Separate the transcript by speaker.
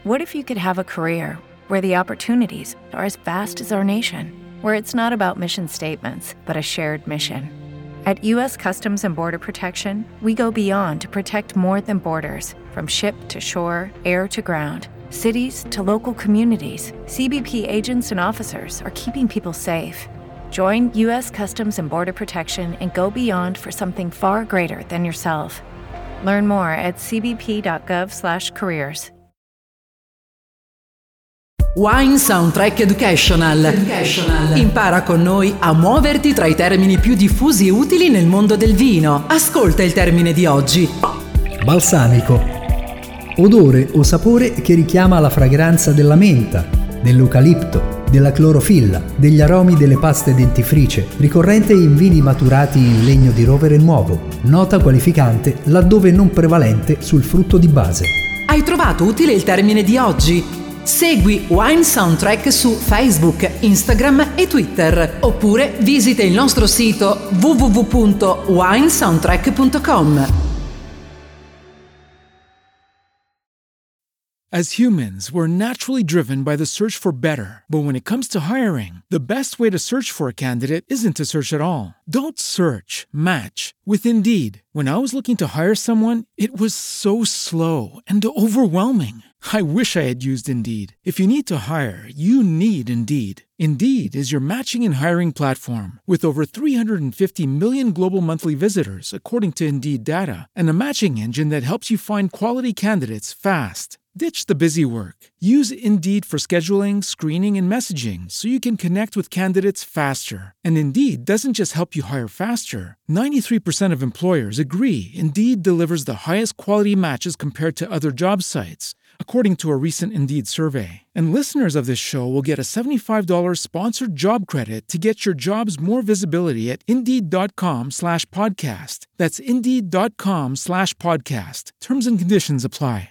Speaker 1: What if you could have a career where the opportunities are as vast as our nation, where it's not about mission statements, but a shared mission? At U.S. Customs and Border Protection, we go beyond to protect more than borders. From ship to shore, air to ground, cities to local communities, CBP agents and officers are keeping people safe. Join U.S. Customs and Border Protection and go beyond for something far greater than yourself. Learn more at cbp.gov/careers.
Speaker 2: Wine Soundtrack Educational. Impara con noi a muoverti tra i termini più diffusi e utili nel mondo del vino. Ascolta il termine di oggi.
Speaker 3: Balsamico. Odore o sapore che richiama la fragranza della menta, dell'eucalipto, della clorofilla, degli aromi delle paste dentifrice, ricorrente in vini maturati in legno di rovere nuovo. Nota qualificante laddove non prevalente sul frutto di base.
Speaker 2: Hai trovato utile il termine di oggi? Segui Wine Soundtrack su Facebook, Instagram e Twitter, oppure visita il nostro sito www.winesoundtrack.com.
Speaker 4: As humans, we're naturally driven by the search for better. But when it comes to hiring, the best way to search for a candidate isn't to search at all. Don't search, match with Indeed. When I was looking to hire someone, it was so slow and overwhelming. I wish I had used Indeed. If you need to hire, you need Indeed. Indeed is your matching and hiring platform with over 350 million global monthly visitors, according to Indeed data, and a matching engine that helps you find quality candidates fast. Ditch the busy work. Use Indeed for scheduling, screening, and messaging so you can connect with candidates faster. And Indeed doesn't just help you hire faster. 93% of employers agree Indeed delivers the highest quality matches compared to other job sites, according to a recent Indeed survey. And listeners of this show will get a $75 sponsored job credit to get your jobs more visibility at Indeed.com/podcast. That's Indeed.com/podcast. Terms and conditions apply.